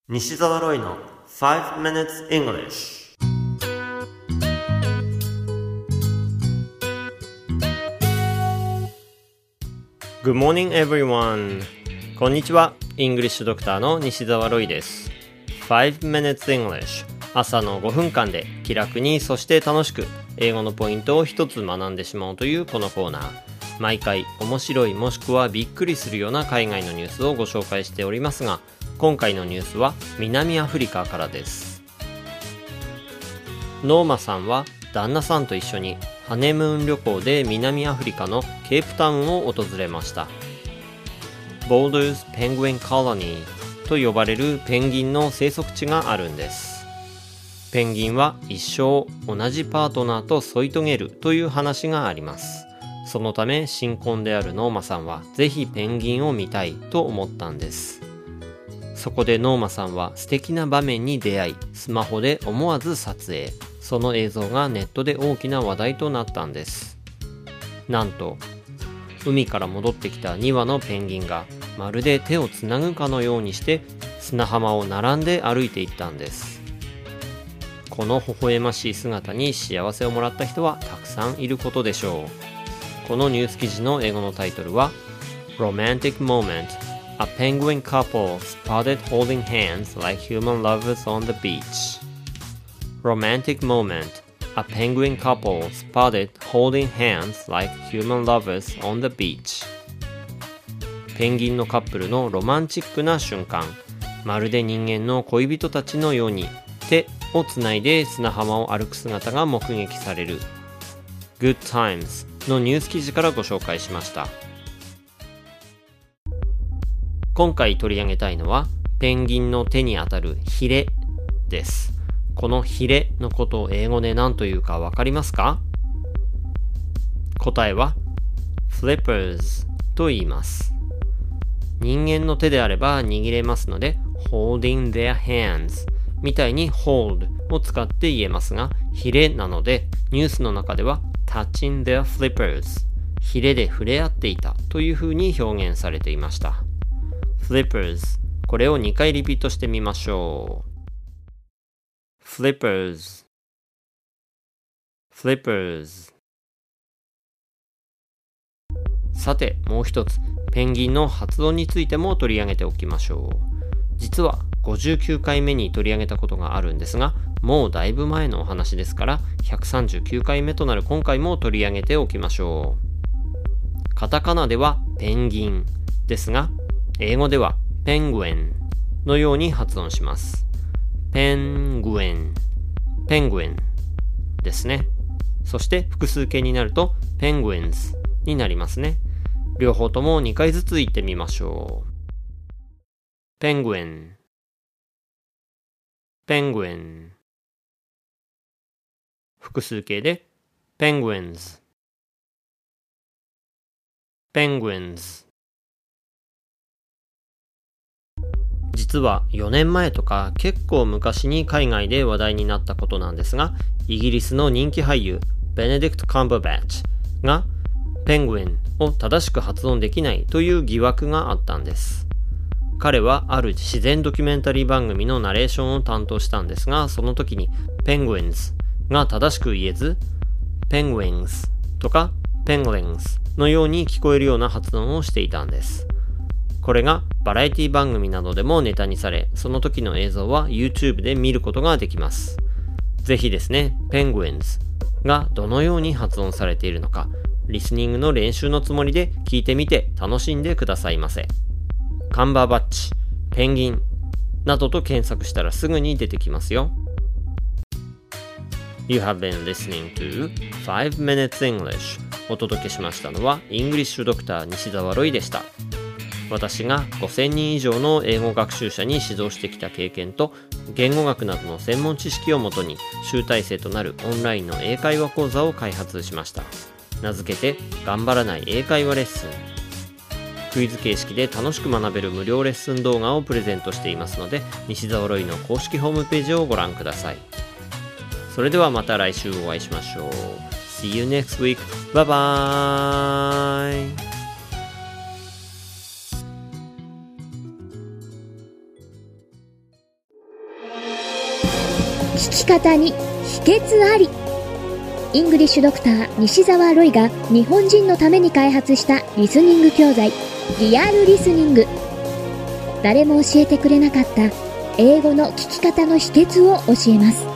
西澤ロイの5 minutes English。 Good morning everyone。 こんにちは。イングリッシュドクターの西澤ロイです。5 minutes English、 朝の5分間で気楽にそして楽しく英語のポイントを一つ学んでしまおうというこのコーナー。毎回面白いもしくはびっくりするような海外のニュースをご紹介しておりますが、今回のニュースは南アフリカからです。ノーマさんは旦那さんと一緒にハネムーン旅行で南アフリカのケープタウンを訪れました。Boulders Penguin Colony と呼ばれるペンギンの生息地があるんです。ペンギンは一生同じパートナーと添い遂げるという話があります。そのため新婚であるノーマさんはぜひペンギンを見たいと思ったんです。そこでノーマさんは素敵な場面に出会い、スマホで思わず撮影。その映像がネットで大きな話題となったんです。なんと海から戻ってきた2羽のペンギンがまるで手をつなぐかのようにして砂浜を並んで歩いていったんです。この微笑ましい姿に幸せをもらった人はたくさんいることでしょう。このニュース記事の英語のタイトルは Romantic Moment A penguin couple spotted holding hands like human lovers on the beach. Romantic moment. A penguin couple spotted holding hands like human lovers on the beach. ペンギンのカップルのロマンチックな瞬間。まるで人間の恋人たちのように手をつないで砂浜を歩く姿が目撃される。Good Times のニュース記事からご紹介しました。今回取り上げたいのはペンギンの手にあたるヒレです。このヒレのことを英語で何というかわかりますか？答えは flippers と言います。人間の手であれば握れますので holding their hands みたいに hold を使って言えますが、ヒレなのでニュースの中では touching their flippers ヒレで触れ合っていたというふうに表現されていました。Flippers これを2回リピートしてみましょう。Flippers Flippers。 さてもう一つペンギンの発音についても取り上げておきましょう。実は59回目に取り上げたことがあるんですが、もうだいぶ前のお話ですから139回目となる今回も取り上げておきましょう。カタカナではペンギンですが、英語ではペングエンのように発音します。ペングエン、ペングエンですね。そして複数形になるとペングエンズになりますね。両方とも2回ずつ言ってみましょう。ペングエン、ペングエン。複数形でペングエンズ、ペングエンズ。実は4年前とか結構昔に海外で話題になったことなんですが、イギリスの人気俳優ベネディクト・カンバーバッチがペングエンを正しく発音できないという疑惑があったんです。彼はある自然ドキュメンタリー番組のナレーションを担当したんですが、その時にペングエンズが正しく言えずペングエンズとかペングレンズのように聞こえるような発音をしていたんです。これがバラエティ番組などでもネタにされ、その時の映像は YouTube で見ることができます。ぜひですね、ペングエンズがどのように発音されているのか、リスニングの練習のつもりで聞いてみて楽しんでくださいませ。カンバーバッチ、ペンギンなどと検索したらすぐに出てきますよ。You have been listening to 5 minutes English。 お届けしましたのはイングリッシュドクター西澤ロイでした。私が5000人以上の英語学習者に指導してきた経験と言語学などの専門知識をもとに集大成となるオンラインの英会話講座を開発しました。名付けて頑張らない英会話レッスン。クイズ形式で楽しく学べる無料レッスン動画をプレゼントしていますので、西澤ロイの公式ホームページをご覧ください。それではまた来週お会いしましょう。See you next week. Bye bye. 聞き方に秘訣あり。イングリッシュドクター西澤ロイが日本人のために開発したリスニング教材、リアルリスニング。誰も教えてくれなかった英語の聞き方の秘訣を教えます。